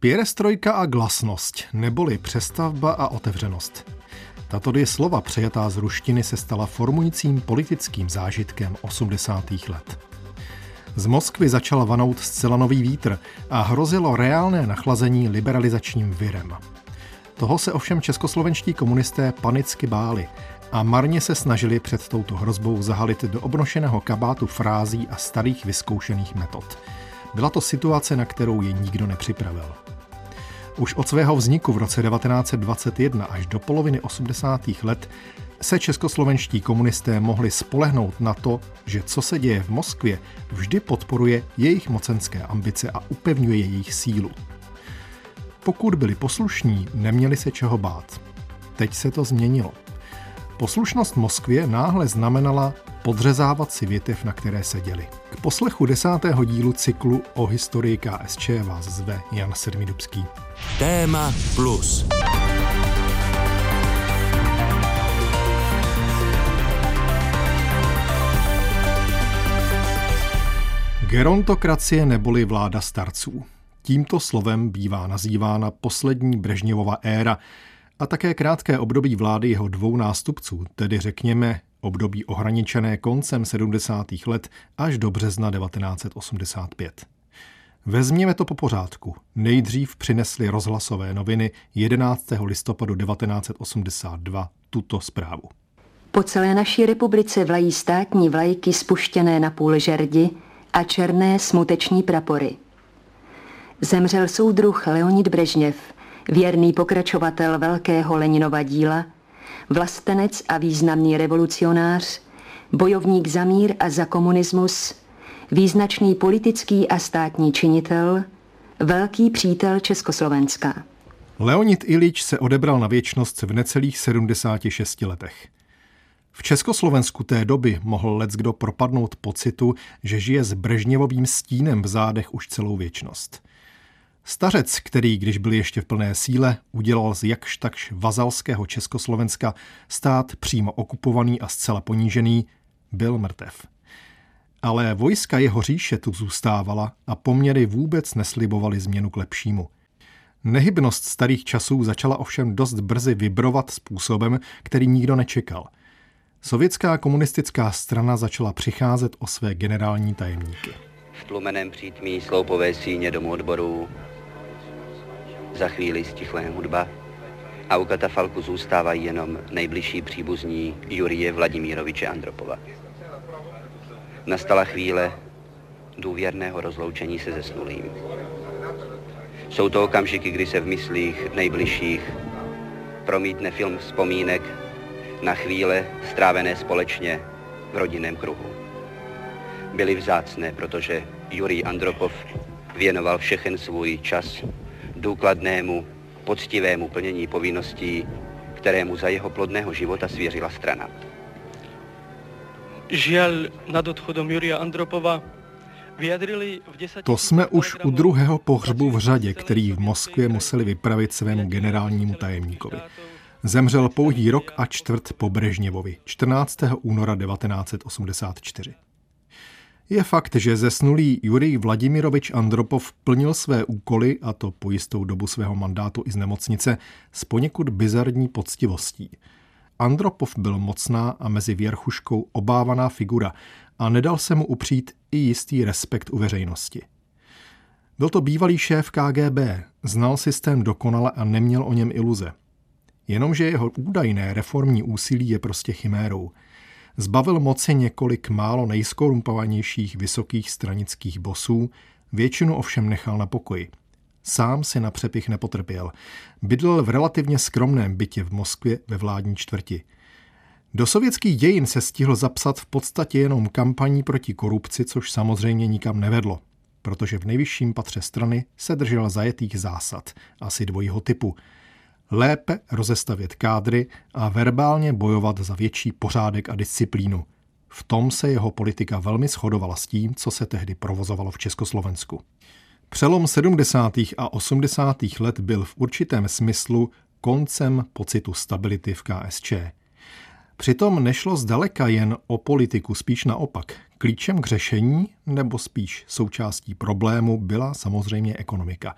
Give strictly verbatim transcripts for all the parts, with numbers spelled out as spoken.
Pěrestrojka a glasnost, neboli přestavba a otevřenost. Tato dvě slova přejatá z ruštiny se stala formujícím politickým zážitkem osmdesátých let. Z Moskvy začal vanout zcela nový vítr a hrozilo reálné nachlazení liberalizačním virem. Toho se ovšem českoslovenští komunisté panicky báli a marně se snažili před touto hrozbou zahalit do obnošeného kabátu frází a starých vyzkoušených metod. Byla to situace, na kterou je nikdo nepřipravil. Už od svého vzniku v roce devatenáct set dvacet jedna až do poloviny osmdesátých let se českoslovenští komunisté mohli spolehnout na to, že co se děje v Moskvě, vždy podporuje jejich mocenské ambice a upevňuje jejich sílu. Pokud byli poslušní, neměli se čeho bát. Teď se to změnilo. Poslušnost Moskvě náhle znamenala podřezávat si větev, na které seděli. K poslechu desátého dílu cyklu o historii K S Č vás zve Jan Sedmidubský. Téma plus. Gerontokracie neboli vláda starců. Tímto slovem bývá nazývána poslední Brežněvova éra a také krátké období vlády jeho dvou nástupců, tedy řekněme období ohraničené koncem sedmdesátých let až do března devatenáct set osmdesát pět. Vezměme to po pořádku. Nejdřív přinesly rozhlasové noviny jedenáctého listopadu devatenáct set osmdesát dva tuto zprávu. Po celé naší republice vlají státní vlajky spuštěné na půl žerdi a černé smuteční prapory. Zemřel soudruh Leonid Brežněv, věrný pokračovatel velkého Leninova díla, vlastenec a významný revolucionář, bojovník za mír a za komunismus, význačný politický a státní činitel, velký přítel Československa. Leonid Iljič se odebral na věčnost v necelých sedmdesáti šesti letech. V Československu té doby mohl leckdo propadnout pocitu, že žije s Brežněvovým stínem v zádech už celou věčnost. Stařec, který, když byl ještě v plné síle, udělal z jakž takž vazalského Československa stát přímo okupovaný a zcela ponížený, byl mrtev. Ale vojska jeho říše tu zůstávala a poměry vůbec neslibovaly změnu k lepšímu. Nehybnost starých časů začala ovšem dost brzy vibrovat způsobem, který nikdo nečekal. Sovětská komunistická strana začala přicházet o své generální tajemníky. V tlumeném přítmí sloupové síně domu odborů za chvíli stichlé hudba a u katafalku zůstávají jenom nejbližší příbuzní Jurije Vladimíroviče Andropova. Nastala chvíle důvěrného rozloučení se zesnulým. Jsou to okamžiky, kdy se v myslích nejbližších promítne film vzpomínek na chvíle strávené společně v rodinném kruhu. Byly vzácné, protože Jurij Andropov věnoval všechen svůj čas důkladnému, poctivému plnění povinností, kterému za jeho plodného života svěřila strana. Žal nad odchodem Jurija Andropova vyjadřili v deseti... To jsme už u druhého pohřbu v řadě, který v Moskvě museli vypravit svému generálnímu tajemníkovi. Zemřel pouhý rok a čtvrt po Brežněvovi, čtrnáctého února devatenáct set osmdesát čtyři. Je fakt, že zesnulý Jurij Vladimirovič Andropov plnil své úkoly, a to po jistou dobu svého mandátu i z nemocnice, s poněkud bizarní poctivostí. Andropov byl mocná a mezi věrchuškou obávaná figura a nedal se mu upřít i jistý respekt u veřejnosti. Byl to bývalý šéf K G B, znal systém dokonale a neměl o něm iluze. Jenomže jeho údajné reformní úsilí je prostě chimérou. Zbavil moci několik málo nejskorumpovanějších vysokých stranických bosů, většinu ovšem nechal na pokoji. Sám si na přepich nepotrpěl. Bydlel v relativně skromném bytě v Moskvě ve vládní čtvrti. Do sovětských dějin se stihl zapsat v podstatě jenom kampaní proti korupci, což samozřejmě nikam nevedlo, protože v nejvyšším patře strany se držel zajetých zásad, asi dvojího typu. Lépe rozestavět kádry a verbálně bojovat za větší pořádek a disciplínu. V tom se jeho politika velmi shodovala s tím, co se tehdy provozovalo v Československu. Přelom sedmdesátých a osmdesátých let byl v určitém smyslu koncem pocitu stability v K S Č. Přitom nešlo zdaleka jen o politiku, spíš naopak. Klíčem k řešení, nebo spíš součástí problému, byla samozřejmě ekonomika.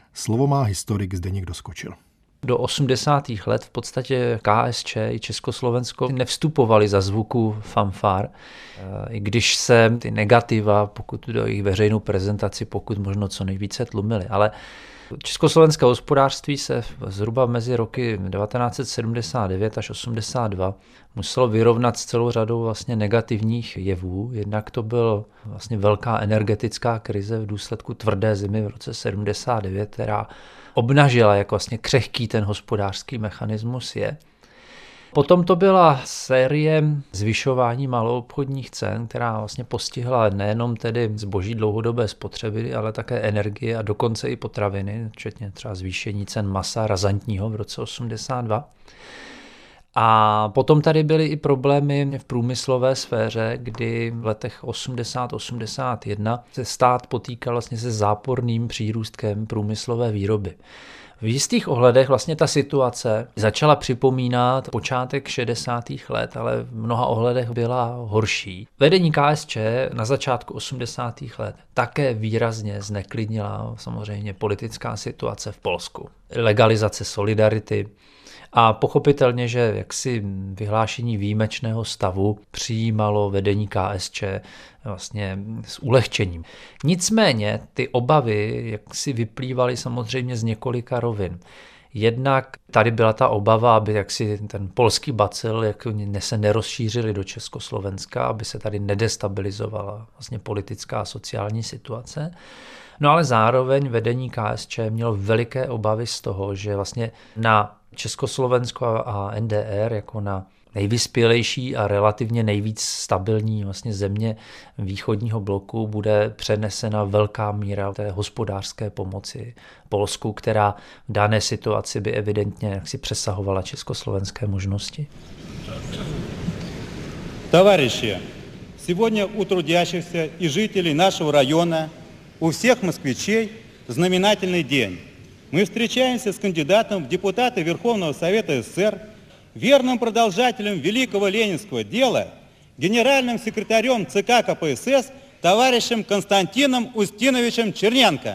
Slovo má historik Zdeněk Doskočil. Do osmdesátých let v podstatě K S Č i Československo nevstupovali za zvuku fanfár, i když se ty negativa, pokud do jejich veřejnou prezentaci, pokud možno co nejvíce tlumily. Ale československé hospodářství se zhruba mezi roky devatenáct set sedmdesát devět až osmdesát dva muselo vyrovnat s celou řadou vlastně negativních jevů. Jednak to byl vlastně velká energetická krize v důsledku tvrdé zimy v roce sedmdesát devět, která obnažila, jak vlastně křehký ten hospodářský mechanismus je. Potom to byla série zvyšování maloobchodních cen, která vlastně postihla nejenom tedy zboží dlouhodobé spotřeby, ale také energie a dokonce i potraviny, včetně třeba zvýšení cen masa razantního v roce osmdesát dva. A potom tady byly i problémy v průmyslové sféře, kdy v letech osmdesát osmdesát jedna se stát potýkal vlastně se záporným přírůstkem průmyslové výroby. V jistých ohledech vlastně ta situace začala připomínat počátek šedesátých let, ale v mnoha ohledech byla horší. Vedení K S Č na začátku osmdesátých let také výrazně zneklidnila samozřejmě politická situace v Polsku. Legalizace solidarity a pochopitelně, že jaksi vyhlášení výjimečného stavu přijímalo vedení K S Č vlastně s ulehčením. Nicméně ty obavy jaksi vyplývaly samozřejmě z několika rovin. Jednak tady byla ta obava, aby jaksi ten polský bacil jak se nerozšířili do Československa, aby se tady nedestabilizovala vlastně politická a sociální situace. No ale zároveň vedení K S Č mělo veliké obavy z toho, že vlastně na Československo a N D R jako na nejvyspělejší a relativně nejvíc stabilní vlastně země východního bloku bude přenesena velká míra té hospodářské pomoci Polsku, která v dané situaci by evidentně jaksi přesahovala československé možnosti. Товарищи, сегодня у трудящихся и жителей нашего района, у всех москвичей знаменательный день. Мы встречаемся с кандидатом в депутаты Верховного Совета С С С Р, верным продолжателем великого ленинского дела, генеральным секретарем Ц К К П С С товарищем Константином Устиновичем Черненко.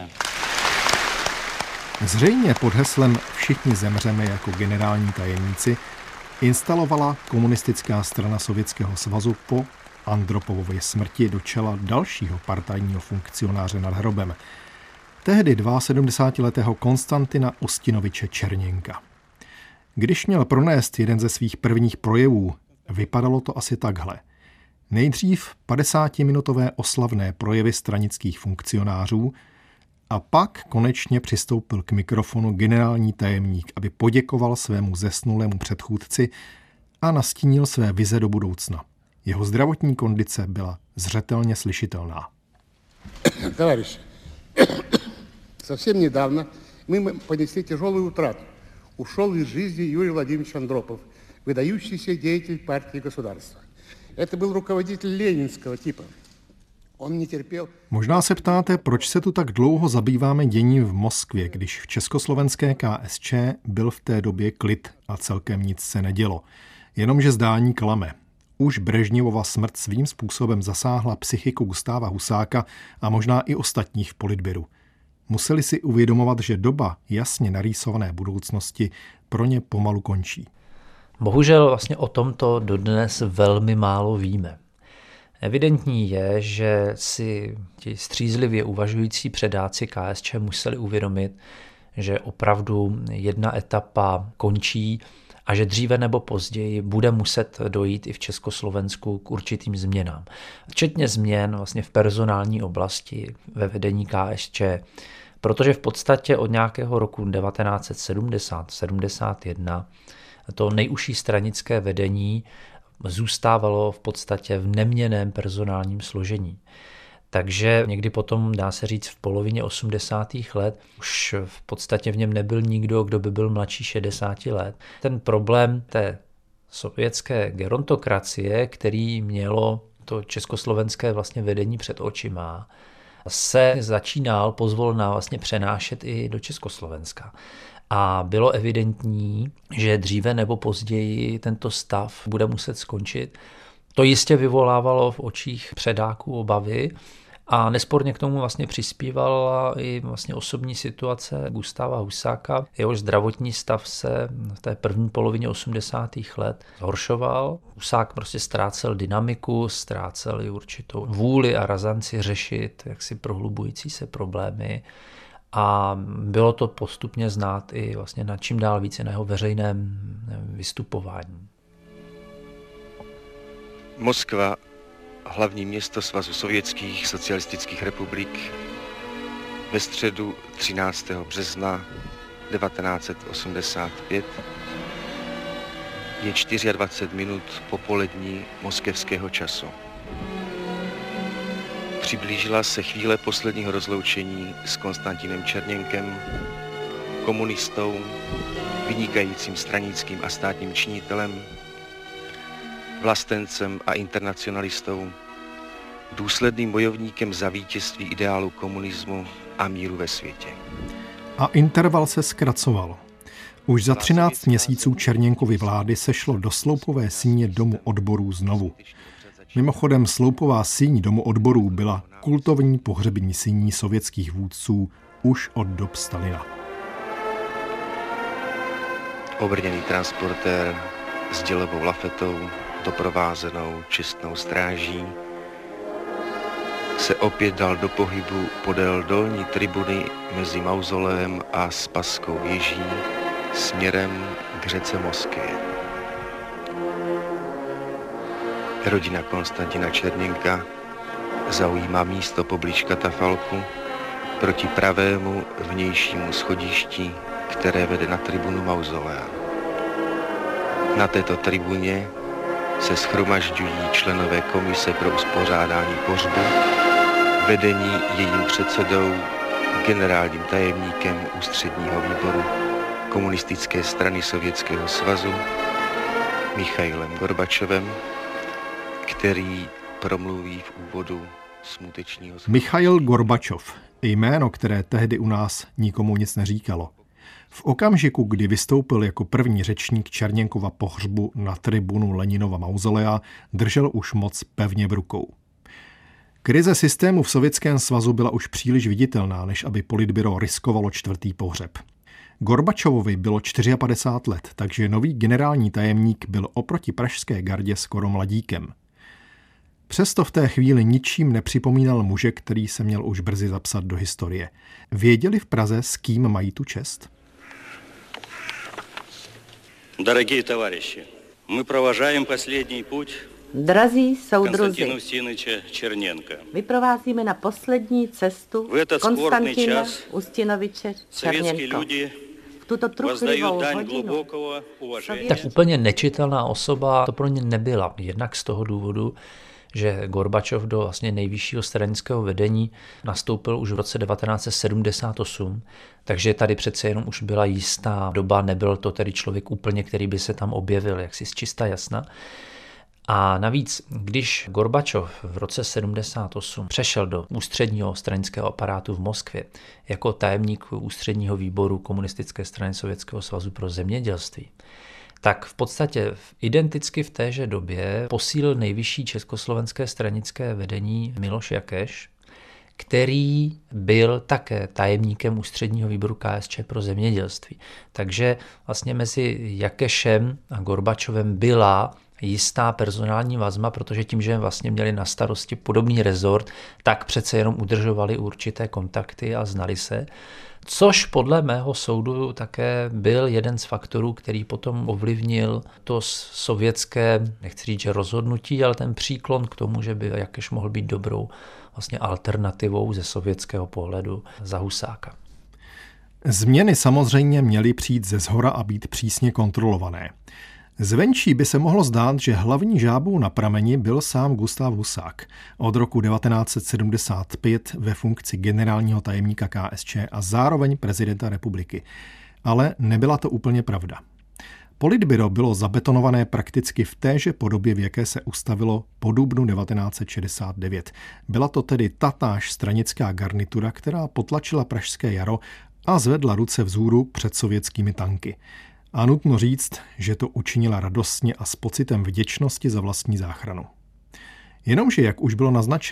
Zřejmě pod heslem Všichni zemřeme jako generální tajemníci instalovala komunistická strana Sovětského svazu po Andropovově smrti do čela dalšího partajního funkcionáře nad hrobem, tehdy sedmdesátiletého Konstantina Ustinoviče Černěnka. Když měl pronést jeden ze svých prvních projevů, vypadalo to asi takhle. Nejdřív padesátiminutové oslavné projevy stranických funkcionářů a pak konečně přistoupil k mikrofonu generální tajemník, aby poděkoval svému zesnulému předchůdci a nastínil své vize do budoucna. Jeho zdravotní kondice byla zřetelně slyšitelná. Товарищи, совсем недавно мы понесли тяжелую утрату. Ушел из жизни Юрий Владимирович Андропов, выдающийся деятель партии государства. Это был руководитель ленинского типа. Он не терпел... Možná se ptáte, proč se tu tak dlouho zabýváme děním v Moskvě, když v československé K S Č byl v té době klid a celkem nic se nedělo. Jenomže zdání klame. Už Brežněvova smrt svým způsobem zasáhla psychiku Gustáva Husáka a možná i ostatních v politbyru. Museli si uvědomovat, že doba jasně narýsované budoucnosti pro ně pomalu končí. Bohužel vlastně o tomto dodnes velmi málo víme. Evidentní je, že si ti střízlivě uvažující předáci K S Č museli uvědomit, že opravdu jedna etapa končí a že dříve nebo později bude muset dojít i v Československu k určitým změnám. Včetně změn vlastně v personální oblasti ve vedení K S Č, protože v podstatě od nějakého roku devatenáct set sedmdesát sedmdesát jedna to nejužší stranické vedení zůstávalo v podstatě v neměnném personálním složení. Takže někdy potom, dá se říct, v polovině osmdesátých let už v podstatě v něm nebyl nikdo, kdo by byl mladší šedesáti let. Ten problém té sovětské gerontokracie, který mělo to československé vlastně vedení před očima, se začínal pozvolna vlastně přenášet i do Československa. A bylo evidentní, že dříve nebo později tento stav bude muset skončit. To jistě vyvolávalo v očích předáků obavy A nesporně k tomu vlastně přispívala i vlastně osobní situace Gustáva Husáka. Jehož zdravotní stav se v té první polovině osmdesátých let zhoršoval. Husák prostě ztrácel dynamiku, ztrácel i určitou vůli a razanci řešit jaksi prohlubující se problémy. A bylo to postupně znát i vlastně na čím dál více na jeho veřejném vystupování. Moskva, hlavní město Svazu sovětských socialistických republik, ve středu třináctého března devatenáct set osmdesát pět je dvacet čtyři minut popolední moskevského času. Přiblížila se chvíle posledního rozloučení s Konstantinem Černěnkem, komunistou, vynikajícím stranickým a státním činitelem, vlastencem a internacionalistou, důsledným bojovníkem za vítězství ideálu komunismu a míru ve světě. A interval se zkracoval. Už za třináct měsíců Černěnkovy vlády sešlo do sloupové síně Domu odborů znovu. Mimochodem sloupová síň Domu odborů byla kultovní pohřební síní sovětských vůdců už od dob Stalina. Obrněný transportér s dělovou lafetou, doprovázenou čestnou stráží, se opět dal do pohybu podél dolní tribuny mezi mauzoleem a Spasskou věží směrem k řece Moskvě. Rodina Konstantina Černěnka zaujímá místo poblíž katafalku proti pravému vnějšímu schodišti, které vede na tribunu mauzolea. Na této tribuně se shromažďují členové komise pro uspořádání pohřbu, vedení jejím předsedou, generálním tajemníkem ústředního výboru Komunistické strany Sovětského svazu Michailem Gorbačovem, který promluví v úvodu smutečního... Michail Gorbačov, jméno, které tehdy u nás nikomu nic neříkalo. V okamžiku, kdy vystoupil jako první řečník Černěnkova pohřbu na tribunu Leninova mauzolea, držel už moc pevně v rukou. Krize systému v Sovětském svazu byla už příliš viditelná, než aby politbyro riskovalo čtvrtý pohřeb. Gorbačovovi bylo padesát čtyři let, takže nový generální tajemník byl oproti pražské gardě skoro mladíkem. Přesto v té chvíli ničím nepřipomínal muže, který se měl už brzy zapsat do historie. Věděli v Praze, s kým mají tu čest? Дорогие товарищи, мы провожаем последний путь Drazí soudruzi, Konstantina Ustinoviče Černěnka. Vyprovázíme na poslední cestu Konstantina Ustinoviče Černěnka. V tuto truchlivou hodinu. Tak úplně nečitelná osoba to pro ně nebyla. Jednak z toho důvodu, že Gorbačov do vlastně nejvyššího stranického vedení nastoupil už v roce devatenáct set sedmdesát osm, takže tady přece jenom už byla jistá doba, nebyl to tedy člověk úplně, který by se tam objevil, jaksi z čista jasna. A navíc, když Gorbačov v roce sedmdesát osm přešel do ústředního stranického aparátu v Moskvě jako tajemník ústředního výboru Komunistické strany Sovětského svazu pro zemědělství, tak v podstatě identicky v téže době posílil nejvyšší československé stranické vedení Miloš Jakeš, který byl také tajemníkem ústředního výboru K S Č pro zemědělství. Takže vlastně mezi Jakešem a Gorbačovem byla jistá personální vazba, protože tím, že vlastně měli na starosti podobný rezort, tak přece jenom udržovali určité kontakty a znali se. Což podle mého soudu také byl jeden z faktorů, který potom ovlivnil to sovětské, nechci říct, že rozhodnutí, ale ten příklon k tomu, že by Jakeš mohl být dobrou vlastně alternativou ze sovětského pohledu za Husáka. Změny samozřejmě měly přijít ze zhora a být přísně kontrolované. Zvenčí by se mohlo zdát, že hlavní žábou na prameni byl sám Gustav Husák, od roku devatenáct set sedmdesát pět ve funkci generálního tajemníka K S Č a zároveň prezidenta republiky. Ale nebyla to úplně pravda. Politbyro bylo zabetonované prakticky v téže podobě, v jaké se ustavilo po dubnu devatenáct set šedesát devět. Byla to tedy tatáž stranická garnitura, která potlačila pražské jaro a zvedla ruce vzhůru před sovětskými tanky. A nutno říct, že to učinila radostně a s pocitem vděčnosti za vlastní záchranu. Jenomže, jak už bylo naznačeno,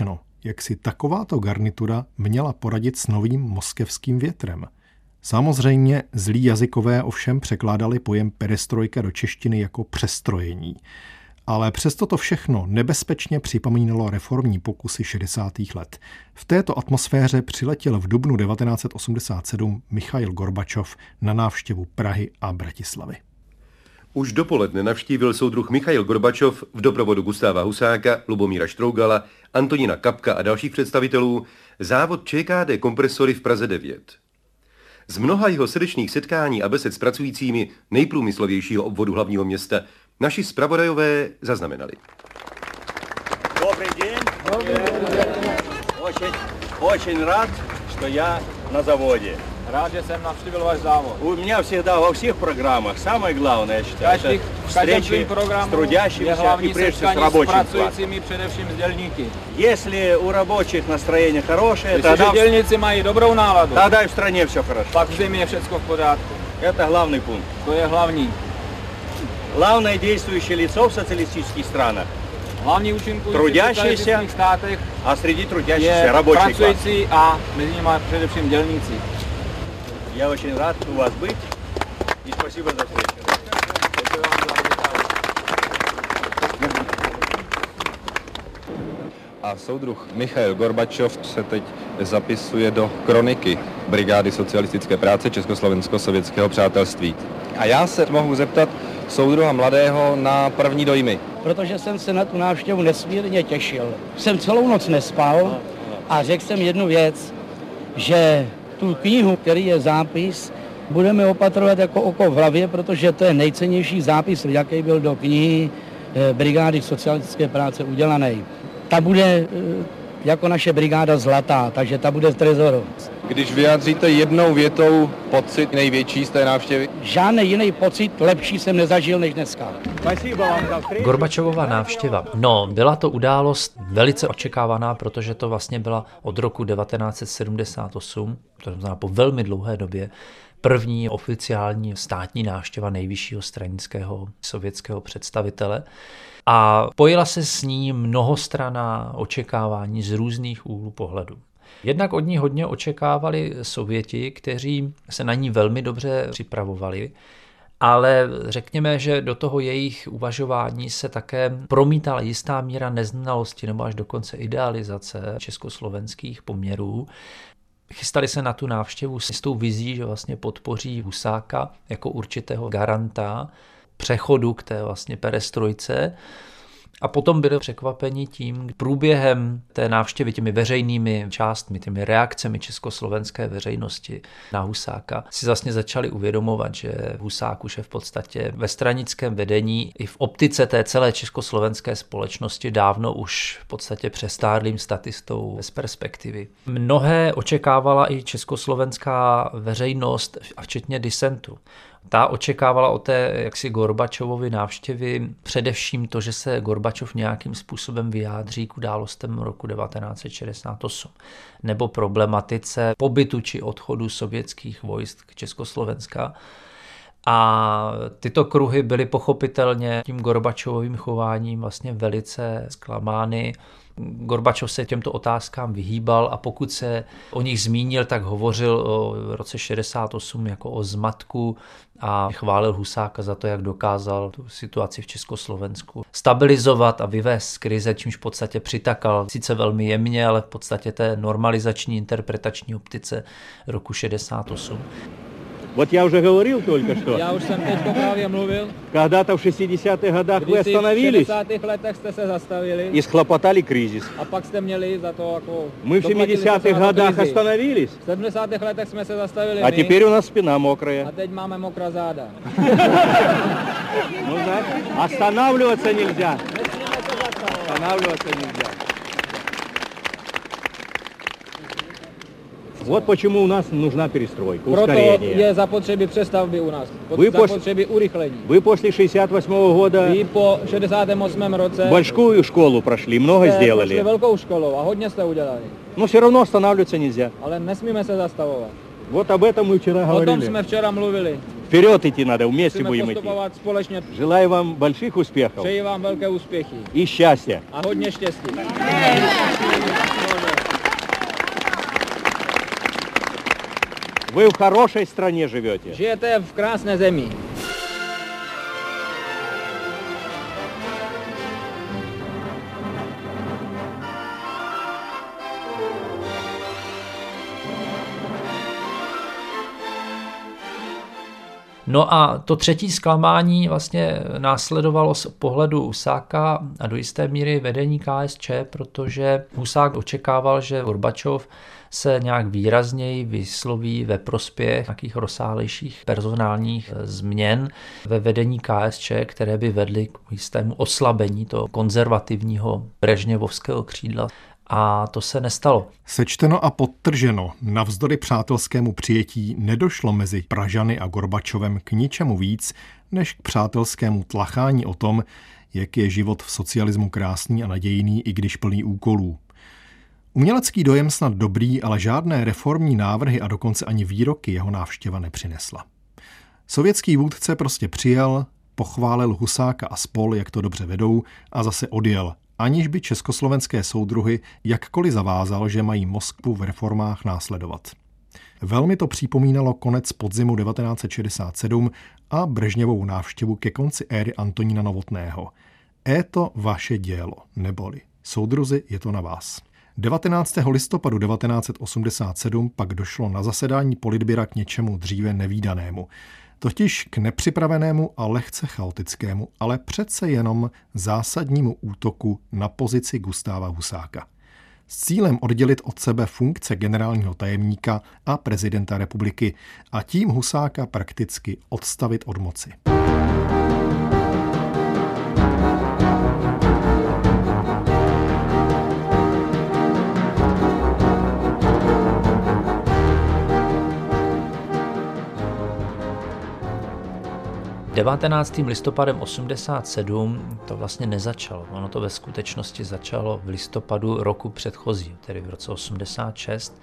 jak si takováto garnitura měla poradit s novým moskevským větrem. Samozřejmě zlí jazykové ovšem překládali pojem perestrojka do češtiny jako přestrojení. Ale přesto to všechno nebezpečně připomínalo reformní pokusy šedesátých let. V této atmosféře přiletěl v dubnu devatenáct set osmdesát sedm Michail Gorbačov na návštěvu Prahy a Bratislavy. Už dopoledne navštívil soudruh Michail Gorbačov v doprovodu Gustáva Husáka, Lubomíra Štrougala, Antonína Kapka a dalších představitelů závod ČKD Kompresory v Praze devět. Z mnoha jeho srdečných setkání a besed s pracujícími nejprůmyslovějšího obvodu hlavního města naši zpravodajové zaznamenali. Dobrý den. Dobrý den. Очень, очень рад, что я на заводе. Rád, že jsem navštívil váš závod. У меня всегда во всех программах самое главное, я считаю, Každý, это встречи с трудящимися и прежде всего с рабочим классом. Především s dělníky. Если у рабочих настроение хорошее, Když тогда, dělníci mají dobrou náladu, тогда и в стране все хорошо. Pak v zemi je všechno v pořádku. Это главный пункт. To je hlavní. Главное действующее лицо в социалистических странах. Hlavní účinkující трудящиеся, v státech а среди трудящихся je рабочий класс. pracující a mezi nimi především dělníci. Я очень рад у вас быть и спасибо за встречу. A soudruh Michail Gorbačov se teď zapisuje do kroniky Brigády socialistické práce Československo-sovětského přátelství. A já se mohu zeptat soudruha mladého na první dojmy. Protože jsem se na tu návštěvu nesmírně těšil. Jsem celou noc nespal a řekl jsem jednu věc, že tu knihu, který je zápis, budeme opatrovat jako oko v hlavě, protože to je nejcennější zápis, jaký byl do knihy Brigády socialistické práce udělaný. Ta bude jako naše brigáda zlatá, takže ta bude v trezoru. Když vyjádříte jednou větou pocit největší z té návštěvy? Žádný jiný pocit lepší jsem nezažil než dneska. Gorbačovova návštěva. No, byla to událost velice očekávaná, protože to vlastně byla od roku devatenáct set sedmdesát osm, to znamená po velmi dlouhé době, první oficiální státní návštěva nejvyššího stranického sovětského představitele. A pojila se s ní mnohostranná očekávání z různých úhlů pohledu. Jednak od ní hodně očekávali Sověti, kteří se na ní velmi dobře připravovali, ale řekněme, že do toho jejich uvažování se také promítala jistá míra neznalosti nebo až dokonce idealizace československých poměrů. Chystali se na tu návštěvu s tou vizí, že vlastně podpoří Husáka jako určitého garanta přechodu k té vlastně perestrojce. A potom byli překvapeni tím průběhem té návštěvy, těmi veřejnými částmi, těmi reakcemi československé veřejnosti na Husáka, si vlastně začali uvědomovat, že Husák už je v podstatě ve stranickém vedení i v optice té celé československé společnosti dávno už v podstatě přestárlým statistou bez perspektivy. Mnohé očekávala i československá veřejnost a včetně disentu. Ta očekávala od té jaksi Gorbačovovy návštěvy především to, že se Gorbačov nějakým způsobem vyjádří k událostem roku devatenáct set šedesát osm nebo problematice pobytu či odchodu sovětských vojsk Československa. A tyto kruhy byly pochopitelně tím Gorbačovovým chováním vlastně velice zklamány. Gorbačov se těmto otázkám vyhýbal a pokud se o nich zmínil, tak hovořil o roce šedesát osm jako o zmatku a chválil Husáka za to, jak dokázal tu situaci v Československu stabilizovat a vyvést z krize, čímž v podstatě přitakal sice velmi jemně, ale v podstatě té normalizační interpretační optice roku šedesát osm. Вот я уже говорил только что. Já už jsem teďko právě mluvil. Когда-то в шестидесятых годах вы остановились v šedesátých letech jste se zastavili и схлопотали кризис. A pak jste měli za to jako Мы в семидесятых годах остановились. V sedmdesátých letech jsme se zastavili А my. теперь у нас спина мокрая. A teď máme mokrá záda. Ну, знаете, останавливаться нельзя. Останавливаться нельзя. Вот почему у нас нужна перестройка, ускорение. Proto je zapotřebí přestavby u nás. Vy zapotřebí urychlení. Вы после шестьдесят восьмого года Vy po šedesátém osmém roce большую школу прошли, много сделали. Prošli velkou školou a hodně jste udělali. Но все равно останавливаться нельзя. Ale nesmíme se zastavovat. Вот об этом мы вчера говорили. O tom jsme včera mluvili. Vперед идти надо, вместе Musíme будем идти. postupovat společně. Желаю вам больших успехов. Přeji vám velké úspěchy. И счастья. A hodně štěstí. Vy v хорошé straně žijete. Žijete v krásné zemi. No a to třetí zklamání vlastně následovalo z pohledu Husáka a do jisté míry vedení K S Č, protože Husák očekával, že Gorbačov se nějak výrazněji vysloví ve prospěch nějakých rozsáhlejších personálních změn ve vedení K S Č, které by vedly k jistému oslabení toho konzervativního brežněvovského křídla. A to se nestalo. Sečteno a podtrženo, navzdory přátelskému přijetí nedošlo mezi Pražany a Gorbačovem k ničemu víc, než k přátelskému tlachání o tom, jak je život v socialismu krásný a nadějný, i když plný úkolů. Umělecký dojem snad dobrý, ale žádné reformní návrhy a dokonce ani výroky jeho návštěva nepřinesla. Sovětský vůdce prostě přijel, pochválil Husáka a spol, jak to dobře vedou, a zase odjel, aniž by československé soudruhy jakkoliv zavázal, že mají Moskvu v reformách následovat. Velmi to připomínalo konec podzimu devatenáct set šedesát sedm a Brežněvovu návštěvu ke konci éry Antonína Novotného. Je to vaše dělo, neboli soudruzi, je to na vás. devatenáctého listopadu devatenáct set osmdesát sedm pak došlo na zasedání politbyra k něčemu dříve nevídanému. Totiž k nepřipravenému a lehce chaotickému, ale přece jenom zásadnímu útoku na pozici Gustáva Husáka. S cílem oddělit od sebe funkce generálního tajemníka a prezidenta republiky a tím Husáka prakticky odstavit od moci. devatenáctým listopadem osmdesát sedm to vlastně nezačalo. Ono to ve skutečnosti začalo v listopadu roku předchozího, tedy v roce osmdesát šest,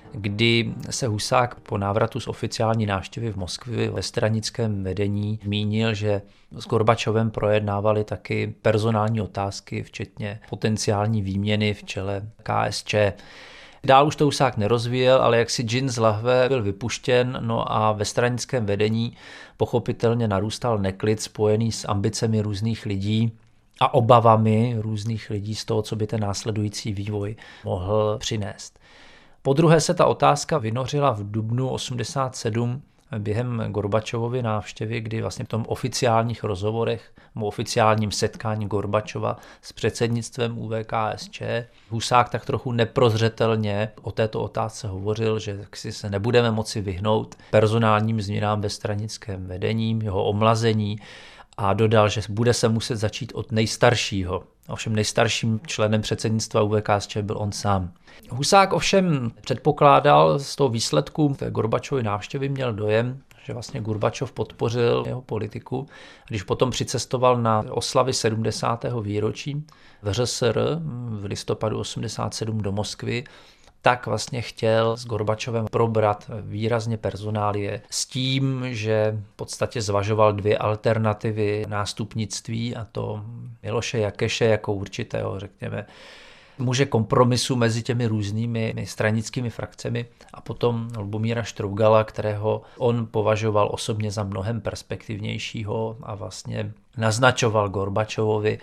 kdy se Husák po návratu z oficiální návštěvy v Moskvě ve stranickém vedení zmínil, že s Gorbačovem projednávali taky personální otázky, včetně potenciální výměny v čele K S Č. Dál už to Husák nerozvíjel, ale jak si džin z lahve byl vypuštěn, no a ve stranickém vedení pochopitelně narůstal neklid spojený s ambicemi různých lidí a obavami různých lidí z toho, co by ten následující vývoj mohl přinést. Podruhé se ta otázka vynořila v dubnu osmdesát sedm během Gorbačovovy návštěvy, kdy vlastně v tom oficiálních rozhovorech, v oficiálním setkání Gorbačova s předsednictvem U V K S Č, Husák tak trochu neprozřetelně o této otázce hovořil, že si se nebudeme moci vyhnout personálním změnám ve stranickém vedení, jeho omlazení, a dodal, že bude se muset začít od nejstaršího. Ovšem nejstarším členem předsednictva U V K S Č byl on sám. Husák ovšem předpokládal z toho výsledku té Gorbačovy návštěvy, měl dojem, že vlastně Gorbačov podpořil jeho politiku. Když potom přicestoval na oslavy sedmdesátého výročí v R S R v listopadu osmdesát sedm do Moskvy, tak vlastně chtěl s Gorbačovem probrat výrazně personálie s tím, že v podstatě zvažoval dvě alternativy nástupnictví, a to Miloše Jakeše jako určitého, řekněme, muže kompromisu mezi těmi různými stranickými frakcemi, a potom Lubomíra Štrougala, kterého on považoval osobně za mnohem perspektivnějšího a vlastně naznačoval Gorbačovovi,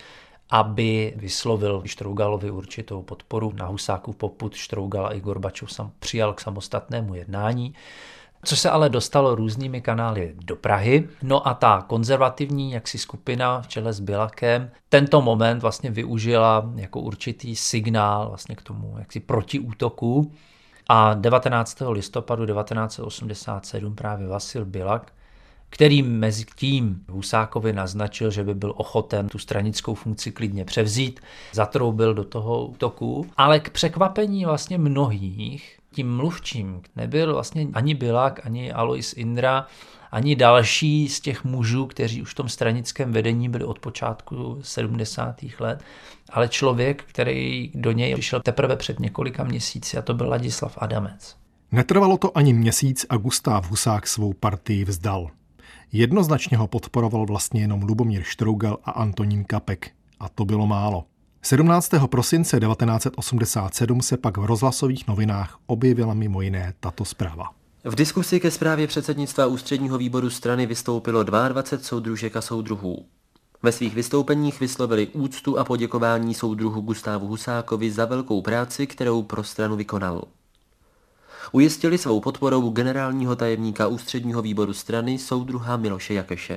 aby vyslovil Štrougalovi určitou podporu. Na Husákův popud Štrougal i Gorbačov sam přijal k samostatnému jednání, což se ale dostalo různými kanály do Prahy. No a ta konzervativní jaksi skupina v čele s Bilakem tento moment vlastně využila jako určitý signál vlastně k tomu jaksi protiútoku. A devatenáctého listopadu devatenáct set osmdesát sedm právě Vasil Bilak, který mezi tím Husákovi naznačil, že by byl ochoten tu stranickou funkci klidně převzít, zatroubil do toho útoku, ale k překvapení vlastně mnohých tím mluvčím nebyl vlastně ani Bilak, ani Alois Indra, ani další z těch mužů, kteří už v tom stranickém vedení byli od počátku sedmdesátých let, ale člověk, který do něj přišel teprve před několika měsíci, a to byl Ladislav Adamec. Netrvalo to ani měsíc a Gustáv Husák svou partii vzdal. Jednoznačně ho podporoval vlastně jenom Lubomír Štrougal a Antonín Kapek. A to bylo málo. sedmnáctého prosince devatenáct set osmdesát sedm se pak v rozhlasových novinách objevila mimo jiné tato zpráva. V diskusi ke zprávě předsednictva ústředního výboru strany vystoupilo dvacet dva soudružek a soudruhů. Ve svých vystoupeních vyslovili úctu a poděkování soudruhu Gustávu Husákovi za velkou práci, kterou pro stranu vykonal. Ujistili svou podporou generálního tajemníka ústředního výboru strany soudruha Miloše Jakeše.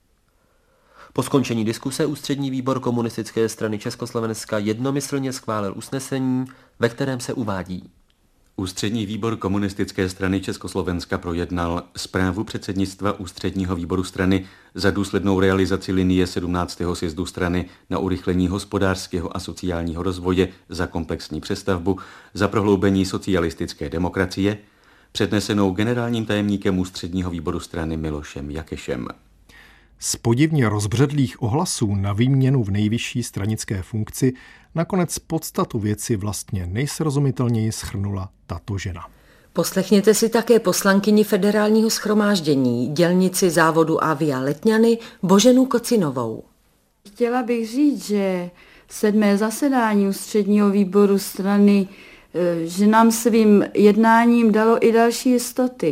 Po skončení diskuse ústřední výbor Komunistické strany Československa jednomyslně schválil usnesení, ve kterém se uvádí: Ústřední výbor Komunistické strany Československa projednal zprávu předsednictva ústředního výboru strany za důslednou realizaci linie sedmnáctého sjezdu strany na urychlení hospodářského a sociálního rozvoje, za komplexní přestavbu, za prohloubení socialistické demokracie, přednesenou generálním tajemníkem ústředního výboru strany Milošem Jakešem. Z podivně rozbředlých ohlasů na výměnu v nejvyšší stranické funkci nakonec podstatu věci vlastně nejsrozumitelněji shrnula tato žena. Poslechněte si také poslankyni Federálního shromáždění, dělnici závodu Avia Letňany Boženu Kocinovou. Chtěla bych říct, že sedmé zasedání ústředního výboru strany, že nám svým jednáním dalo i další jistoty.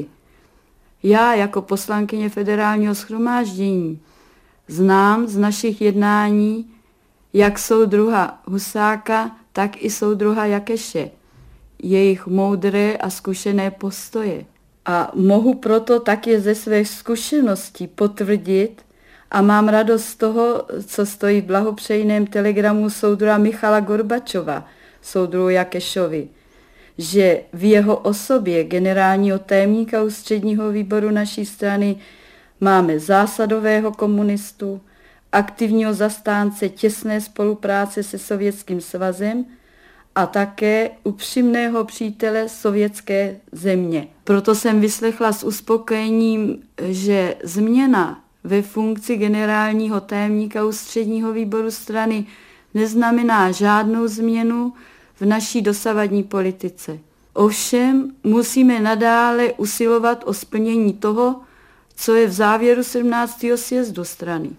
Já jako poslankyně Federálního shromáždění znám z našich jednání jak soudruha Husáka, tak i soudruha Jakeše, jejich moudré a zkušené postoje. A mohu proto také ze své zkušenosti potvrdit a mám radost z toho, co stojí v blahopřejném telegramu soudruha Michala Gorbačova, soudruhu Jakešovi, že v jeho osobě generálního tajemníka ústředního výboru naší strany máme zásadového komunistu, aktivního zastánce těsné spolupráce se Sovětským svazem a také upřímného přítele sovětské země. Proto jsem vyslechla s uspokojením, že změna ve funkci generálního tajemníka ústředního výboru strany neznamená žádnou změnu v naší dosavadní politice. Ovšem musíme nadále usilovat o splnění toho, co je v závěru sedmnáctého sjezdu strany.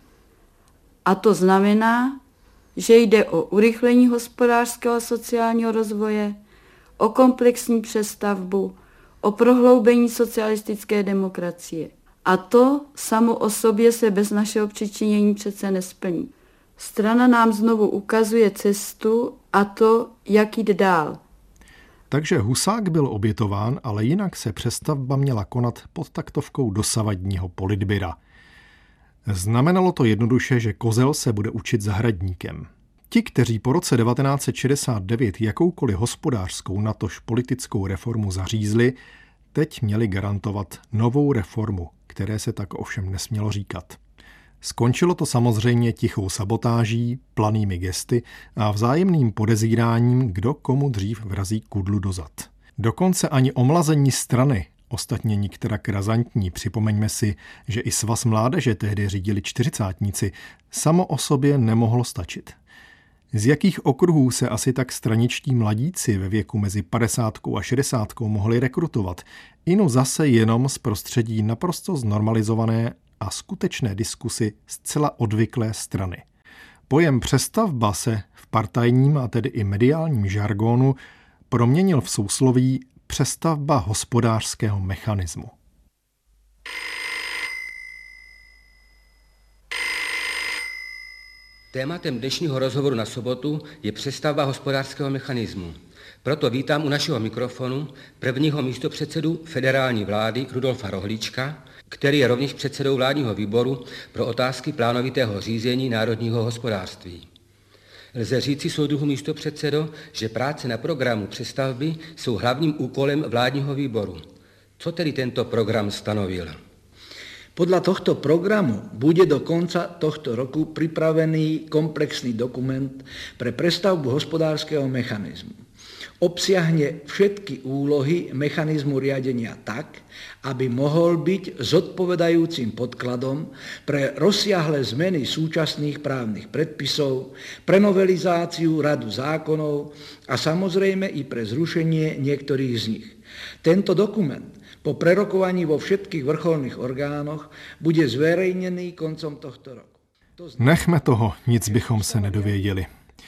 A to znamená, že jde o urychlení hospodářského a sociálního rozvoje, o komplexní přestavbu, o prohloubení socialistické demokracie. A to samo o sobě se bez našeho přičinění přece nesplní. Strana nám znovu ukazuje cestu a to, jak jít dál. Takže Husák byl obětován, ale jinak se přestavba měla konat pod taktovkou dosavadního politbyra. Znamenalo to jednoduše, že kozel se bude učit zahradníkem. Ti, kteří po roce devatenáct set šedesát devět jakoukoliv hospodářskou natož politickou reformu zařízli, teď měli garantovat novou reformu, které se tak ovšem nesmělo říkat. Skončilo to samozřejmě tichou sabotáží, planými gesty a vzájemným podezíráním, kdo komu dřív vrazí kudlu do zad. Dokonce ani omlazení strany, ostatně nikterak razantní, připomeňme si, že i Svaz mládeže tehdy řídili čtyřicátníci, samo o sobě nemohlo stačit. Z jakých okruhů se asi tak straničtí mladíci ve věku mezi padesátkou a šedesátkou mohli rekrutovat, inu zase jenom z prostředí naprosto znormalizované a skutečné diskusy zcela odvyklé strany. Pojem přestavba se v partajním a tedy i mediálním žargonu proměnil v sousloví přestavba hospodářského mechanismu. Tématem dnešního rozhovoru na sobotu je přestavba hospodářského mechanismu. Proto vítám u našeho mikrofonu prvního místopředsedu federální vlády Rudolfa Rohlíčka, který je rovněž předsedou vládního výboru pro otázky plánovitého řízení národního hospodářství. Lze říci, soudruhu místopředsedo, že práce na programu přestavby jsou hlavním úkolem vládního výboru. Co tedy tento program stanovil? Podľa tohto programu bude do konca tohto roku pripravený komplexný dokument pre prestavbu hospodárskeho mechanizmu. Obsiahne všetky úlohy mechanizmu riadenia tak, aby mohol byť zodpovedajúcim podkladom pre rozsiahle zmeny súčasných právnych predpisov, pre novelizáciu radu zákonov a samozrejme i pre zrušenie niektorých z nich. Tento dokument po prerokovaní vo všetkých vrcholných orgánoch bude zverejnený koncom tohto roku. Nechme toho, nic bychom se nedověděli.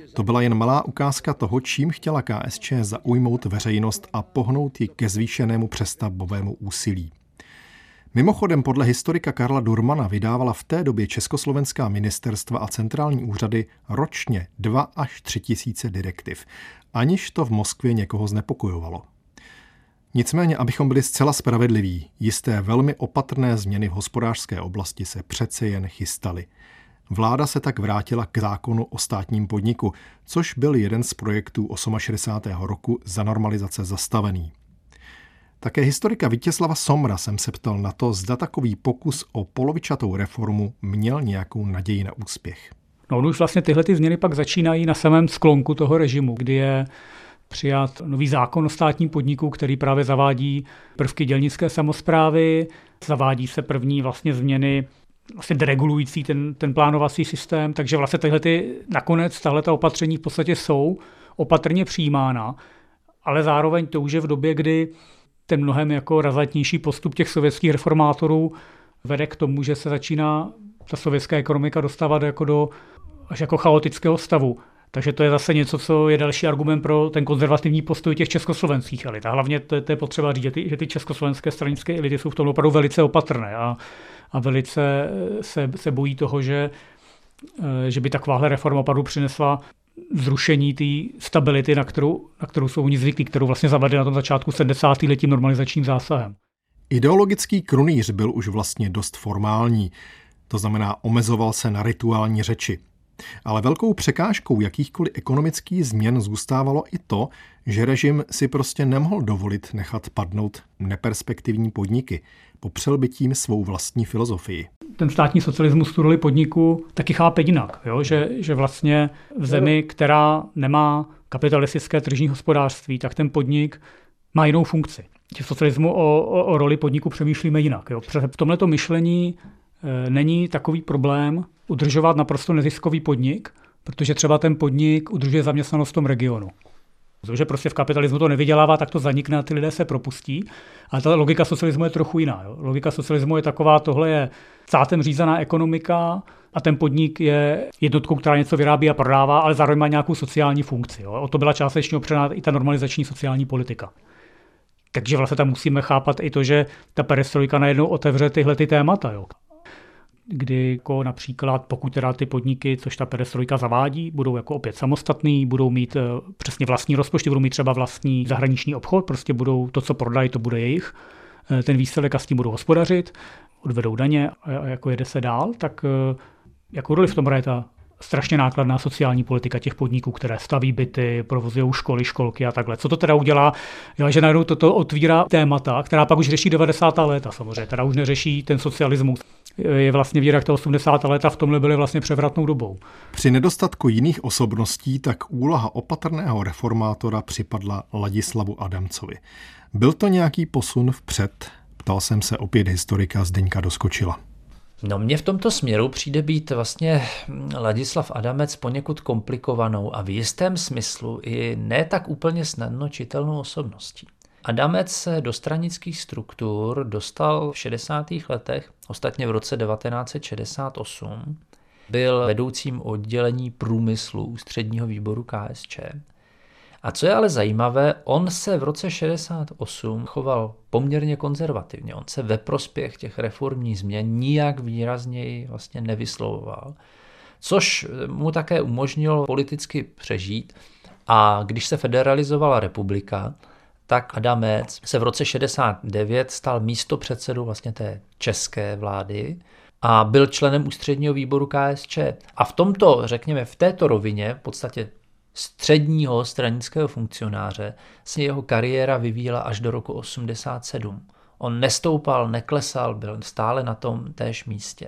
To byla jen malá ukázka toho, čím chtěla K S Č zaujmout veřejnost a pohnout ji ke zvýšenému přestavbovému úsilí. Mimochodem podle historika Karla Durmana vydávala v té době československá ministerstva a centrální úřady ročně dva až tři tisíce direktiv, aniž to v Moskvě někoho znepokojovalo. Nicméně, abychom byli zcela spravedliví, jisté velmi opatrné změny v hospodářské oblasti se přece jen chystaly. Vláda se tak vrátila k zákonu o státním podniku, což byl jeden z projektů šedesátého osmého roku za normalizace zastavený. Také historika Vítězslava Somra jsem se ptal na to, zda takový pokus o polovičatou reformu měl nějakou naději na úspěch. No, už vlastně tyhle ty změny pak začínají na samém sklonku toho režimu, kdy je přijat nový zákon o státním podniku, který právě zavádí prvky dělnické samosprávy, zavádí se první vlastně změny vlastně deregulující ten, ten plánovací systém, takže vlastně tyhle ty, nakonec tahleta opatření v podstatě jsou opatrně přijímána, ale zároveň to už je v době, kdy ten mnohem jako razantnější postup těch sovětských reformátorů vede k tomu, že se začíná ta sovětská ekonomika dostávat jako do až jako chaotického stavu. Takže to je zase něco, co je další argument pro ten konzervativní postoj těch československých elit. A hlavně to, to je potřeba říct, že ty, že ty československé stranické elity jsou v tom opravdu velice opatrné a, a velice se, se bojí toho, že, že by takováhle reforma opravdu přinesla zrušení té stability, na kterou, na kterou jsou oni zvyklí, kterou vlastně zavedli na tom začátku sedmdesátých let tím normalizačním zásahem. Ideologický krunýř byl už vlastně dost formální, to znamená omezoval se na rituální řeči. Ale velkou překážkou jakýchkoliv ekonomických změn zůstávalo i to, že režim si prostě nemohl dovolit nechat padnout neperspektivní podniky. Popřel by tím svou vlastní filozofii. Ten státní socialismus tu roli podniku taky chápe jinak, jo? Že, že vlastně v zemi, která nemá kapitalistické tržní hospodářství, tak ten podnik má jinou funkci. V socialismu o, o, o roli podniku přemýšlíme jinak. Jo? V tomhleto myšlení e, není takový problém udržovat naprosto neziskový podnik, protože třeba ten podnik udržuje zaměstnanost v tom regionu. Protože prostě v kapitalismu to nevydělává, tak to zanikne a ty lidé se propustí. Ale ta logika socialismu je trochu jiná. Jo? Logika socialismu je taková, tohle je státem řízená ekonomika a ten podnik je jednotkou, která něco vyrábí a prodává, ale zároveň má nějakou sociální funkci. Jo? O to byla částečně opřená i ta normalizační sociální politika. Takže vlastně tam musíme chápat i to, že ta perestrojka najednou otevře tyhle ty témata. Jo? Kdy jako například, pokud teda ty podniky, což ta perestrojka zavádí, budou jako opět samostatný, budou mít uh, přesně vlastní rozpočty, budou mít třeba vlastní zahraniční obchod, prostě budou to, co prodají, to bude jejich, uh, ten výsledek a s tím budou hospodařit, odvedou daně a, a jako jede se dál, tak uh, jakou roli v tom hraje ta strašně nákladná sociální politika těch podniků, které staví byty, provozují školy, školky a takhle. Co to teda udělá? Já, že najednou toto otvírá témata, která pak už řeší devadesátá léta samozřejmě, teda už neřeší ten socialismus. Je vlastně víra, jak ta osmdesátá léta v tomhle byly vlastně převratnou dobou. Při nedostatku jiných osobností tak úloha opatrného reformátora připadla Ladislavu Adamcovi. Byl to nějaký posun vpřed? Ptal jsem se opět historika Zdeňka Doskočila. No mně v tomto směru přijde být vlastně Ladislav Adamec poněkud komplikovanou a v jistém smyslu i ne tak úplně snadno čitelnou osobností. Adamec se do stranických struktur dostal v šedesátých letech, ostatně v roce devatenáct set šedesát osm. Byl vedoucím oddělení průmyslu Ústředního výboru K S Č. A co je ale zajímavé, on se v roce šedesát osm choval poměrně konzervativně. On se ve prospěch těch reformních změn nijak výrazněji vlastně nevyslovoval, což mu také umožnilo politicky přežít. A když se federalizovala republika, tak Adamec se v roce šedesát devět stal místopředsedou vlastně té české vlády a byl členem Ústředního výboru K S Č. A v tomto, řekněme, v této rovině, v podstatě středního stranického funkcionáře, se jeho kariéra vyvíjela až do roku osmdesát sedm. On nestoupal, neklesal, byl stále na tom též místě.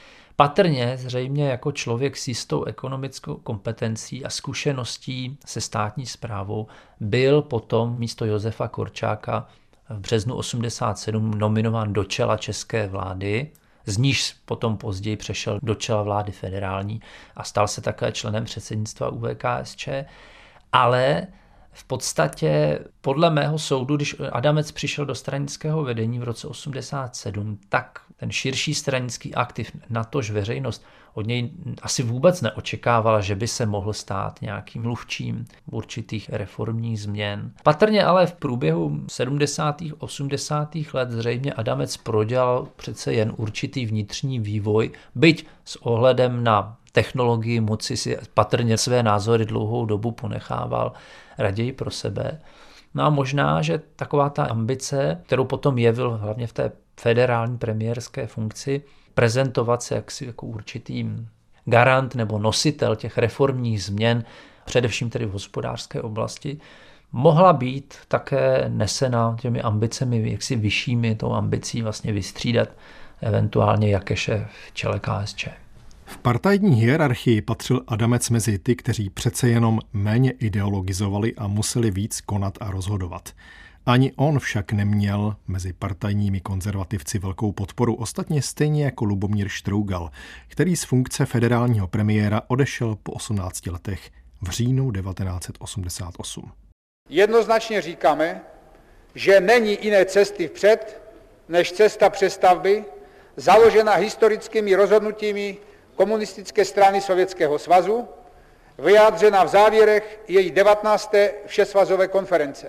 Patrně zřejmě jako člověk s jistou ekonomickou kompetencí a zkušeností se státní správou byl potom místo Josefa Korčáka v březnu osmdesát sedm nominován do čela české vlády, z níž potom později přešel do čela vlády federální a stal se také členem předsednictva U V K S Č, ale V podstatě podle mého soudu, když Adamec přišel do stranického vedení v roce osmdesát sedm, tak ten širší stranický aktiv, natož veřejnost, od něj asi vůbec neočekávala, že by se mohl stát nějakým mluvčím určitých reformních změn. Patrně ale v průběhu sedmdesátých osmdesátých let zřejmě Adamec prodělal přece jen určitý vnitřní vývoj, byť s ohledem na technologii moci si patrně své názory dlouhou dobu ponechával raději pro sebe. No a možná, že taková ta ambice, kterou potom jevil hlavně v té federální premiérské funkci, prezentovat se jaksi jako určitý garant nebo nositel těch reformních změn, především tedy v hospodářské oblasti, mohla být také nesena těmi ambicemi jaksi vyššími, tou ambicí vlastně vystřídat eventuálně Jakeše v čele K S Č. V partajní hierarchii patřil Adamec mezi ty, kteří přece jenom méně ideologizovali a museli víc konat a rozhodovat. Ani on však neměl mezi partajními konzervativci velkou podporu, ostatně stejně jako Lubomír Štrougal, který z funkce federálního premiéra odešel po osmnácti letech v říjnu devatenáct set osmdesát osm. Jednoznačně říkáme, že není jiné cesty vpřed, než cesta přestavby, založená historickými rozhodnutími komunistické strany Sovětského svazu, vyjádřena v závěrech její devatenácté všesvazové konference.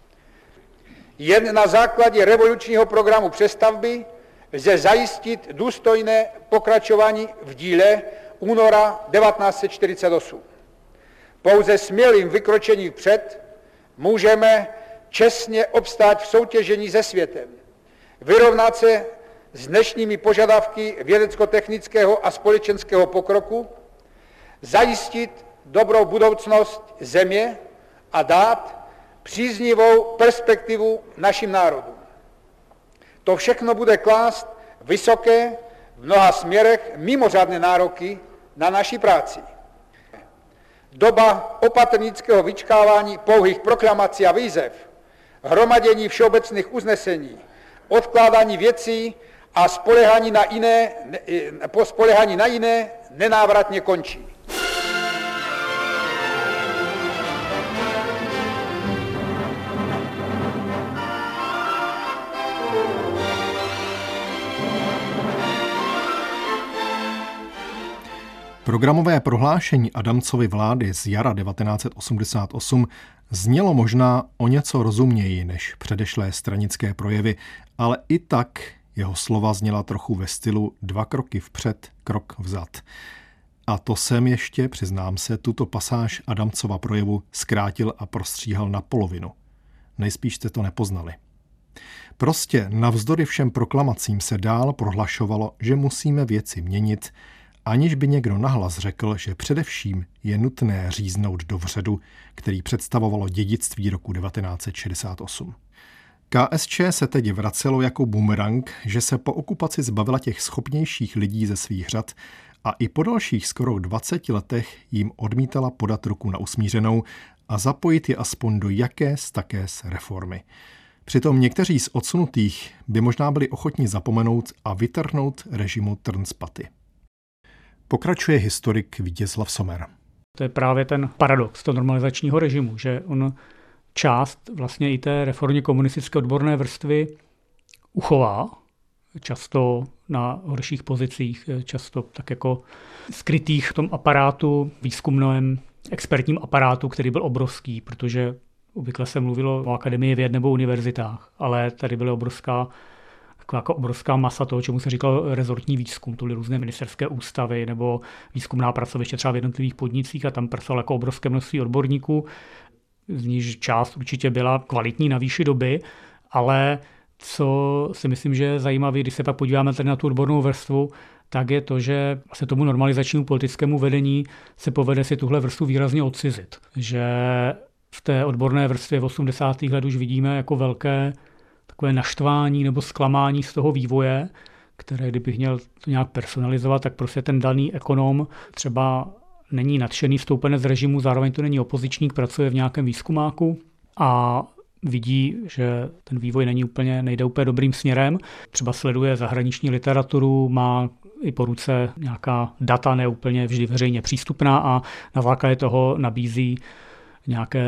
Jen na základě revolučního programu přestavby lze zajistit důstojné pokračování v díle února devatenáct set čtyřicet osm. Pouze smělým vykročením vpřed můžeme čestně obstát v soutěžení se světem, vyrovnat se s dnešními požadavky vědecko-technického a společenského pokroku, zajistit dobrou budoucnost země a dát příznivou perspektivu našim národům. To všechno bude klást vysoké, v mnoha směrech mimořádné nároky na naši práci. Doba opatrnického vyčkávání pouhých proklamací a výzev, hromadění všeobecných usnesení, odkládání věcí a spoléhání na jiné, po spoléhání na jiné nenávratně končí. Programové prohlášení Adamcovy vlády z jara devatenáct set osmdesát osm znělo možná o něco rozuměji než předešlé stranické projevy, ale i tak jeho slova zněla trochu ve stylu dva kroky vpřed, krok vzad. A to jsem ještě, přiznám se, tuto pasáž Adamcova projevu zkrátil a prostříhal na polovinu. Nejspíš jste to nepoznali. Prostě navzdory všem proklamacím se dál prohlašovalo, že musíme věci měnit, aniž by někdo nahlas řekl, že především je nutné říznout do vředu, který představovalo dědictví roku devatenáct set šedesát osm. K S Č se teď vracelo jako bumerang, že se po okupaci zbavila těch schopnějších lidí ze svých řad a i po dalších skoro dvaceti letech jim odmítala podat ruku na usmířenou a zapojit je aspoň do jakés takés reformy. Přitom někteří z odsunutých by možná byli ochotni zapomenout a vytrhnout režimu trn z paty. Pokračuje historik Vítězslav Sommer. To je právě ten paradox toho normalizačního režimu, že on část vlastně i té reformně komunistické odborné vrstvy uchová, často na horších pozicích, často tak jako skrytých v tom aparátu, výzkumném expertním aparátu, který byl obrovský, protože obvykle se mluvilo o akademii věd nebo univerzitách, ale tady byla obrovská jako obrovská masa toho, čemu se říkalo rezortní výzkum. To byly různé ministerské ústavy nebo výzkumná pracoviště třeba v jednotlivých podnicích a tam pracovalo jako obrovské množství odborníků, z níž část určitě byla kvalitní na výši doby, ale co si myslím, že je zajímavé, když se pak podíváme tady na tu odbornou vrstvu, tak je to, že vlastně tomu normalizačnímu politickému vedení se povede si tuhle vrstvu výrazně odcizit. Že v té odborné vrstvě v osmdesátých let už vidíme jako velké takové naštvání nebo zklamání z toho vývoje, které kdybych měl to nějak personalizovat, tak prostě ten daný ekonom třeba není nadšený vstoupenec z režimu, zároveň to není opozičník, pracuje v nějakém výzkumáku a vidí, že ten vývoj není úplně, nejde úplně dobrým směrem. Třeba sleduje zahraniční literaturu, má i po ruce nějaká data neúplně vždy veřejně přístupná a na základě toho nabízí nějaké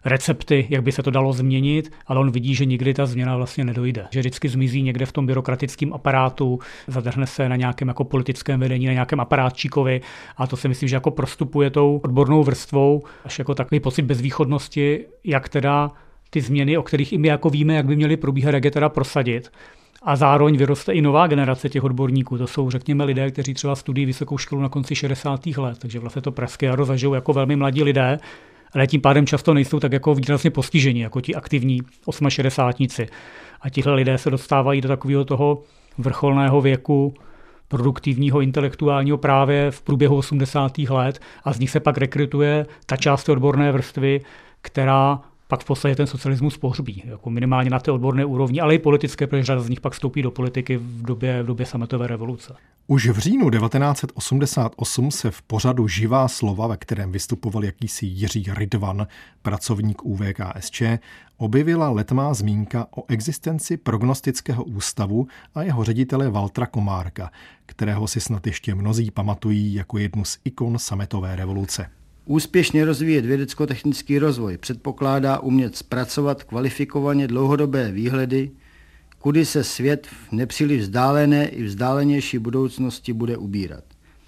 recepty, jak by se to dalo změnit, ale on vidí, že nikdy ta změna vlastně nedojde. Že vždycky zmizí někde v tom byrokratickém aparátu, zadrhne se na nějakém jako politickém vedení, na nějakém aparátčíkovi a to si myslím, že jako prostupuje tou odbornou vrstvou až jako takový pocit bezvýchodnosti, jak teda ty změny, o kterých i my jako víme, jak by měly probíhat, jak je teda prosadit. A zároveň vyroste i nová generace těch odborníků. To jsou, řekněme, lidé, kteří třeba studují vysokou školu na konci šedesátých let, takže vlastně to pražské jaro zažijou jako velmi mladí lidé, ale tím pádem často nejsou tak jako výrazně postiženi, jako ti aktivní osmašedesátníci. A tihle lidé se dostávají do takového toho vrcholného věku produktivního, intelektuálního právě v průběhu osmdesátých let a z nich se pak rekrutuje ta část odborné vrstvy, která pak v podstatě ten socialismus pohřbí, jako minimálně na té odborné úrovni, ale i politické, protože řada z nich pak vstoupí do politiky v době, v době sametové revoluce. Už v říjnu devatenáct set osmdesát osm se v pořadu Živá slova, ve kterém vystupoval jakýsi Jiří Rydvan, pracovník U V K S Č, objevila letmá zmínka o existenci prognostického ústavu a jeho ředitele Valtra Komárka, kterého si snad ještě mnozí pamatují jako jednu z ikon sametové revoluce. Úspěšně rozvíjet vědecko-technický rozvoj předpokládá umět zpracovat kvalifikovaně dlouhodobé výhledy, kudy se svět v nepříliš vzdálené i vzdálenější budoucnosti bude ubírat.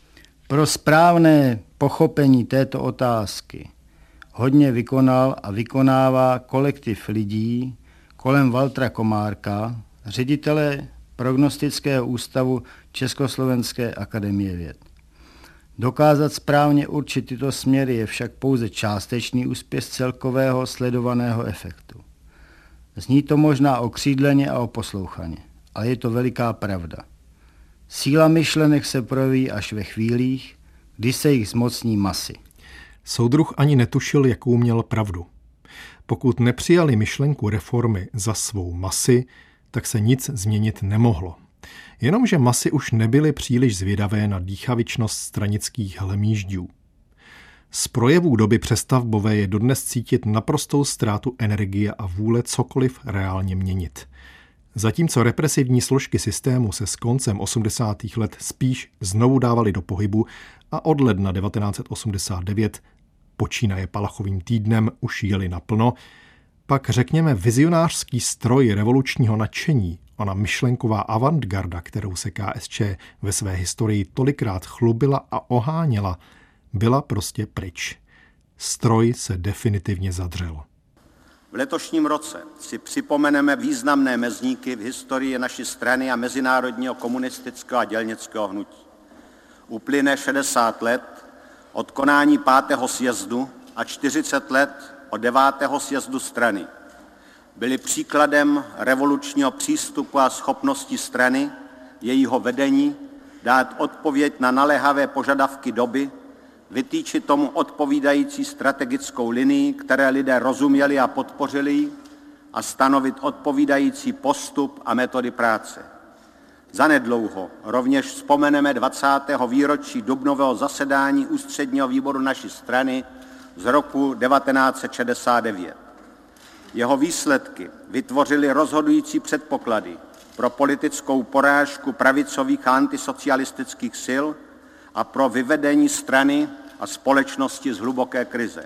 Pro správné pochopení této otázky hodně vykonal a vykonává kolektiv lidí kolem Valtra Komárka, ředitele prognostického ústavu Československé akademie věd. Dokázat správně určit tyto směry je však pouze částečný úspěch celkového sledovaného efektu. Zní to možná okřídleně a oposlouchaně, ale je to veliká pravda. Síla myšlenek se projeví až ve chvílích, kdy se jich zmocní masy. Soudruh ani netušil, jakou měl pravdu. Pokud nepřijali myšlenku reformy za svou masy, tak se nic změnit nemohlo. Jenomže masy už nebyly příliš zvědavé na dýchavičnost stranických hlemýždů. Z projevů doby přestavbové je dodnes cítit naprostou ztrátu energie a vůle cokoliv reálně měnit. Zatímco represivní složky systému se s koncem osmdesátých let spíš znovu dávaly do pohybu a od ledna devatenáct set osmdesát devět, počínaje Palachovým týdnem, už jeli naplno, pak řekněme vizionářský stroj revolučního nadšení, ona myšlenková avantgarda, kterou se K S Č ve své historii tolikrát chlubila a oháněla, byla prostě pryč. Stroj se definitivně zadřel. V letošním roce si připomeneme významné mezníky v historii naší strany a mezinárodního komunistického a dělnického hnutí. Uplyne šedesát let od konání pátého sjezdu a čtyřicet let od devátého sjezdu strany. Byli příkladem revolučního přístupu a schopnosti strany, jejího vedení, dát odpověď na naléhavé požadavky doby, vytýčit tomu odpovídající strategickou linii, které lidé rozuměli a podpořili, a stanovit odpovídající postup a metody práce. Zanedlouho rovněž vzpomeneme dvacátého výročí dubnového zasedání ústředního výboru naší strany z roku devatenáct set šedesát devět. Jeho výsledky vytvořily rozhodující předpoklady pro politickou porážku pravicových a antisocialistických sil a pro vyvedení strany a společnosti z hluboké krize.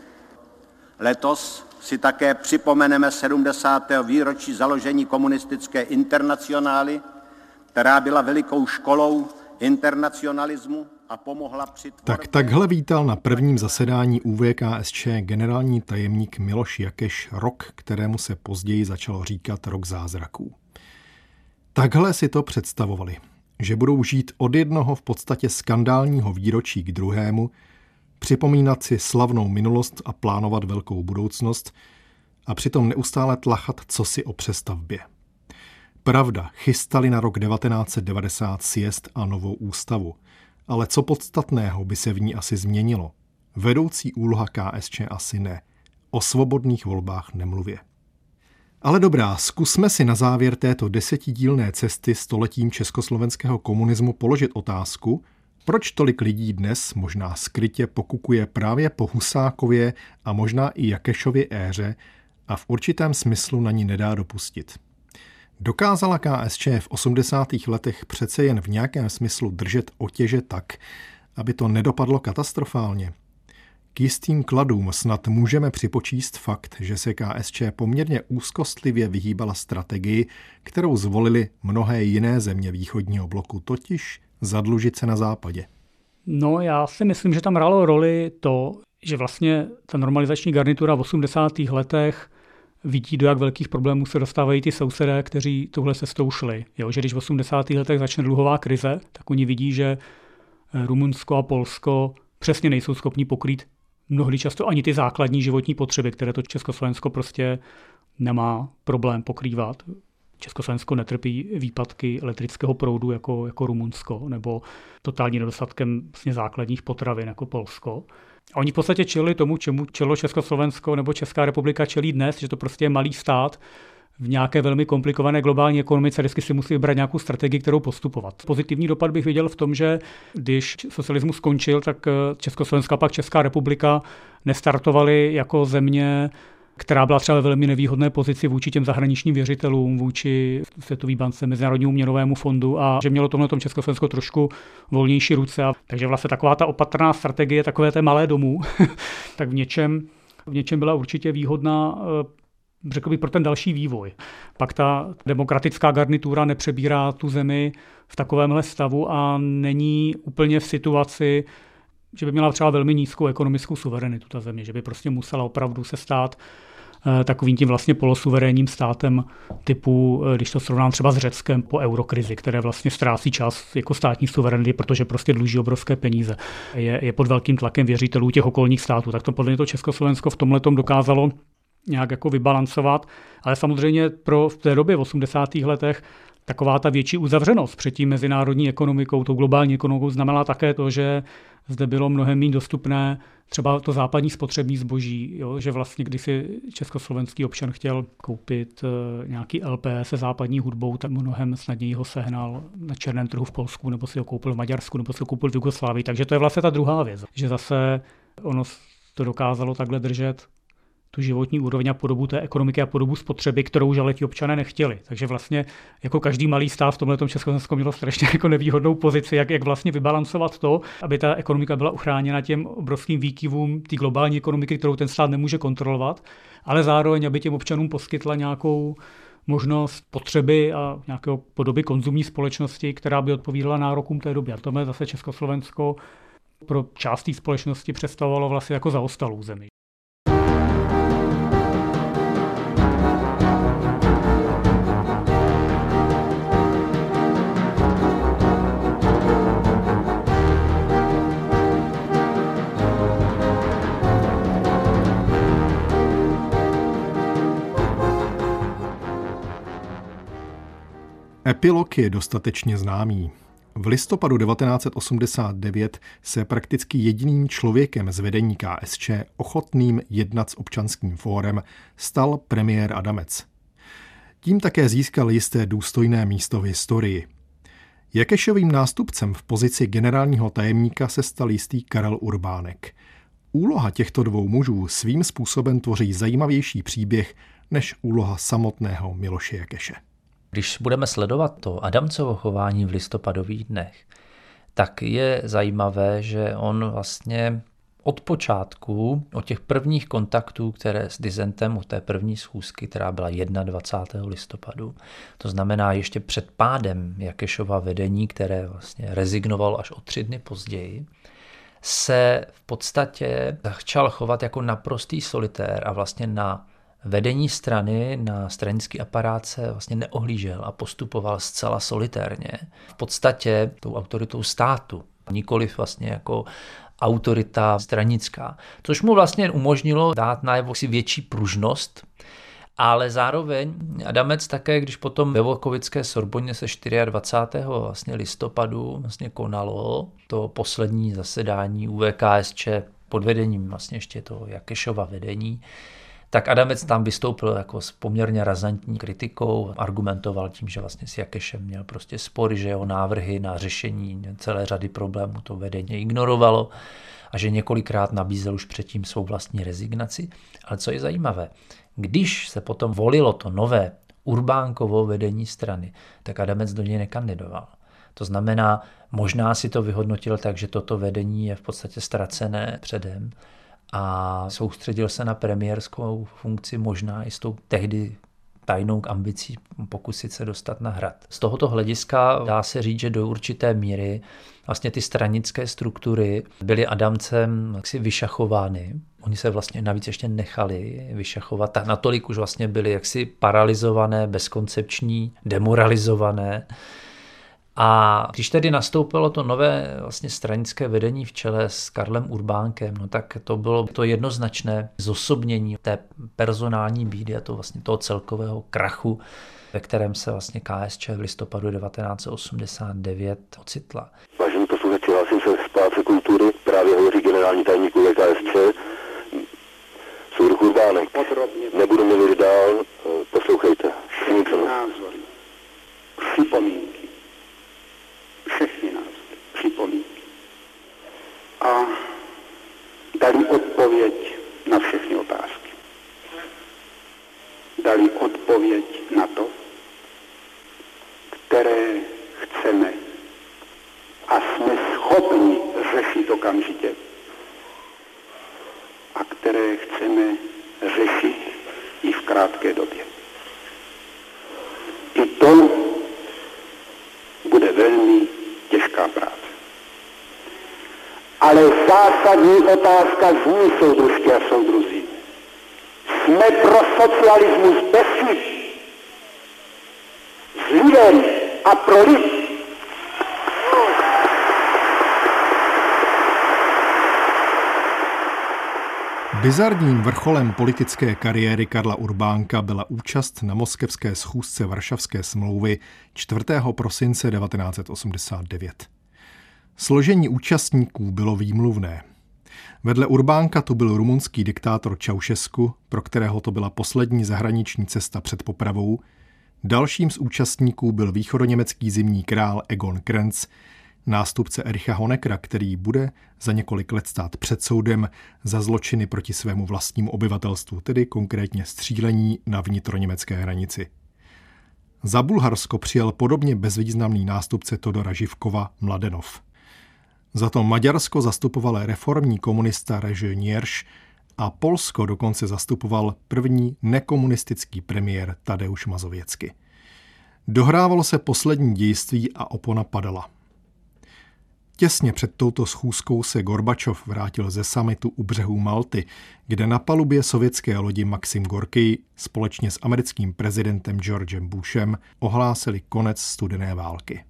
Letos si také připomeneme sedmdesátého výročí založení komunistické internacionály, která byla velikou školou internacionalismu a pomohla při tvorbě... Tak takhle vítal na prvním zasedání U V K S Č generální tajemník Miloš Jakeš rok, kterému se později začalo říkat rok zázraků. Takhle si to představovali, že budou žít od jednoho v podstatě skandálního výročí k druhému, připomínat si slavnou minulost a plánovat velkou budoucnost a přitom neustále tlachat cosi o přestavbě. Pravda, chystali na rok devatenáct set devadesát sjezd a novou ústavu, ale co podstatného by se v ní asi změnilo? Vedoucí úloha K S Č asi ne. O svobodných volbách nemluvě. Ale dobrá, zkusme si na závěr této desetidílné cesty stoletím československého komunismu položit otázku, proč tolik lidí dnes možná skrytě pokukuje právě po Husákově a možná i Jakešově éře a v určitém smyslu na ní nedá dopustit. Dokázala K S Č v osmdesátých letech přece jen v nějakém smyslu držet otěže tak, aby to nedopadlo katastrofálně? K K jistým kladům snad můžeme připočíst fakt, že se K S Č poměrně úzkostlivě vyhýbala strategii, kterou zvolily mnohé jiné země východního bloku, totiž zadlužit se na západě. No, já si myslím, že tam hrálo roli to, že vlastně ta normalizační garnitura v osmdesátých letech vidí, do jak velkých problémů se dostávají ty sousedé, kteří touhle cestou šli. Jo, že když v osmdesátých letech začne dluhová krize, tak oni vidí, že Rumunsko a Polsko přesně nejsou schopni pokrýt mnohdy často ani ty základní životní potřeby, které to Československo prostě nemá problém pokrývat. Československo netrpí výpadky elektrického proudu jako, jako Rumunsko nebo totální nedostatkem vlastně základních potravin jako Polsko. A oni v podstatě čelili tomu, čemu čelo Československo nebo Česká republika čelí dnes, že to prostě je malý stát v nějaké velmi komplikované globální ekonomice, vždycky si musí vybrat nějakou strategii, kterou postupovat. Pozitivní dopad bych viděl v tom, že když socialismus skončil, tak Československo a pak Česká republika nestartovaly jako země, která byla třeba ve velmi nevýhodné pozici vůči těm zahraničním věřitelům, vůči Světové bance, Mezinárodnímu měnovému fondu a že mělo tomhle tom Československo trošku volnější ruce. A takže vlastně taková ta opatrná strategie, takové té malé domů, tak v něčem, v něčem byla určitě výhodná, řekl bych, pro ten další vývoj. Pak ta demokratická garnitura nepřebírá tu zemi v takovémhle stavu a není úplně v situaci, že by měla třeba velmi nízkou ekonomickou suverenitu ta země, že by prostě musela opravdu se stát takovým tím vlastně polosuverénním státem typu, když to srovnám třeba s Řeckem po eurokrizi, které vlastně ztrácí čas jako státní suverenity, protože prostě dluží obrovské peníze. Je, je pod velkým tlakem věřitelů těch okolních států. Tak to podle mě to Československo v tomhletom dokázalo nějak jako vybalancovat, ale samozřejmě pro v té době v osmdesátých letech taková ta větší uzavřenost před tím mezinárodní ekonomikou, tou globální ekonomikou znamenala také to, že zde bylo mnohem méně dostupné třeba to západní spotřební zboží, jo? Že vlastně když si československý občan chtěl koupit nějaký L P se západní hudbou, tak mnohem snadněji ho sehnal na černém trhu v Polsku, nebo si ho koupil v Maďarsku, nebo si ho koupil v Jugoslávii. Takže to je vlastně ta druhá věc, že zase ono to dokázalo takhle držet tu životní úroveň a podobu té ekonomiky a podobu spotřeby, kterou žali ti občané nechtěli. Takže vlastně jako každý malý stát v tomhletom Československo mělo strašně jako nevýhodnou pozici, jak, jak vlastně vybalancovat to, aby ta ekonomika byla uchráněna těm obrovským výkyvům té globální ekonomiky, kterou ten stát nemůže kontrolovat, ale zároveň, aby těm občanům poskytla nějakou možnost potřeby a nějaké podoby konzumní společnosti, která by odpovídala nárokům té doby. A tohle zase Československo pro část té společnosti představovalo vlastně jako zaostalou zemi. Epilog je dostatečně známý. V listopadu devatenáct set osmdesát devět se prakticky jediným člověkem z vedení K S Č ochotným jednat s občanským fórem stal premiér Adamec. Tím také získal jisté důstojné místo v historii. Jakešovým nástupcem v pozici generálního tajemníka se stal jistý Karel Urbánek. Úloha těchto dvou mužů svým způsobem tvoří zajímavější příběh než úloha samotného Miloše Jakeše. Když budeme sledovat to Adamcovo chování v listopadových dnech, tak je zajímavé, že on vlastně od počátku, od těch prvních kontaktů, které s disentem, od té první schůzky, která byla dvacátého prvního listopadu, to znamená ještě před pádem Jakešova vedení, které vlastně rezignoval až o tři dny později, se v podstatě začal chovat jako naprostý solitér a vlastně na vedení strany, na stranický aparát se vlastně neohlížel a postupoval zcela solitérně. V podstatě tou autoritou státu, nikoliv vlastně jako autorita stranická, což mu vlastně umožnilo dát najevo si větší pružnost, ale zároveň Adamec také, když potom ve Volkovické Sorboně se dvacátého čtvrtého vlastně listopadu vlastně konalo to poslední zasedání U V K S Č pod vedením vlastně ještě toho Jakešova vedení, tak Adamec tam vystoupil jako s poměrně razantní kritikou, argumentoval tím, že vlastně s Jakešem měl prostě spory, že jeho návrhy na řešení celé řady problémů to vedení ignorovalo a že několikrát nabízel už předtím svou vlastní rezignaci. Ale co je zajímavé, když se potom volilo to nové Urbánkovo vedení strany, tak Adamec do něj nekandidoval. To znamená, možná si to vyhodnotil tak, že toto vedení je v podstatě ztracené předem, a soustředil se na premiérskou funkci, možná i s tou tehdy tajnou ambicí pokusit se dostat na hrad. Z tohoto hlediska dá se říct, že do určité míry vlastně ty stranické struktury byly Adamcem jaksi vyšachovány. Oni se vlastně navíc ještě nechali vyšachovat, tak natolik už vlastně byly jaksi paralizované, bezkoncepční, demoralizované. A když tedy nastoupilo to nové vlastně stranické vedení v čele s Karlem Urbánkem, no tak to bylo to jednoznačné zosobnění té personální bídy a to vlastně toho celkového krachu, ve kterém se vlastně K S Č v listopadu devatenáct set osmdesát devět ocitla. Vážení posluchači, hlásím se z Paláce kultury, právě hovoří generální tajemník K S Č, soudruh Urbánek. Nebudu mluvit dál, poslouchejte. Všechny názory, připomínky, všechny názory, připomínky a dali odpověď na všechny otázky. Dali odpověď na to, které chceme a jsme schopni řešit okamžitě a které chceme řešit i v krátké době. I to bude velmi těžká práce. Ale zásadní otázka zní, soudružky a soudruzi. Jsme pro socialismus bez chyb, s lidem a pro lid. Bizarním vrcholem politické kariéry Karla Urbánka byla účast na moskevské schůzce Varšavské smlouvy čtvrtého prosince devatenáct set osmdesát devět. Složení účastníků bylo výmluvné. Vedle Urbánka tu byl rumunský diktátor Ceausescu, pro kterého to byla poslední zahraniční cesta před popravou. Dalším z účastníků byl východoněmecký zimní král Egon Krenz, nástupce Ericha Honeckera, který bude za několik let stát před soudem za zločiny proti svému vlastnímu obyvatelstvu, tedy konkrétně střílení na vnitroněmecké hranici. Za Bulharsko přijel podobně bezvýznamný nástupce Todora Živkova Mladenov. Za to Maďarsko zastupoval reformní komunista Reže Nierš a Polsko dokonce zastupoval první nekomunistický premiér Tadeusz Mazověcky. Dohrávalo se poslední dějství a opona padala. Těsně před touto schůzkou se Gorbačov vrátil ze summitu u břehů Malty, kde na palubě sovětské lodi Maxim Gorkij společně s americkým prezidentem Georgem Bushem ohlásili konec studené války.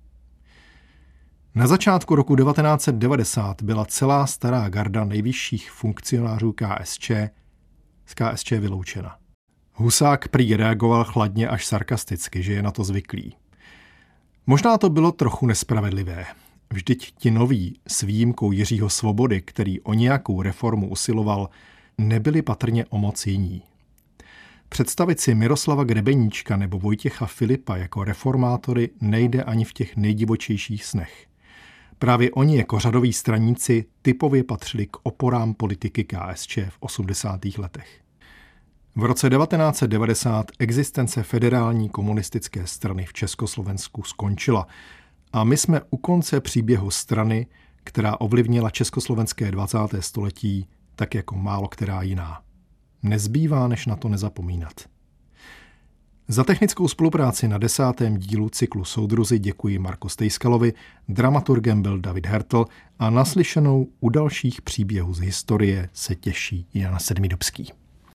Na začátku roku devatenáct set devadesát byla celá stará garda nejvyšších funkcionářů K S Č z K S Č vyloučena. Husák prý reagoval chladně až sarkasticky, že je na to zvyklý. Možná to bylo trochu nespravedlivé. Vždyť ti noví, s výjimkou Jiřího Svobody, který o nějakou reformu usiloval, nebyli patrně o moc jiní. Představit si Miroslava Grebeníčka nebo Vojtěcha Filipa jako reformátory nejde ani v těch nejdivočejších snech. Právě oni jako řadoví straníci typově patřili k oporám politiky K S Č v osmdesátých letech. V roce devatenáct set devadesát existence federální komunistické strany v Československu skončila a my jsme u konce příběhu strany, která ovlivnila československé dvacáté století tak jako málo která jiná. Nezbývá, než na to nezapomínat. Za technickou spolupráci na desátém dílu cyklu Soudruzi děkuji Marku Stejskalovi, dramaturgem byl David Hertl a naslyšenou u dalších příběhů z historie se těší Jan Sedmidubský.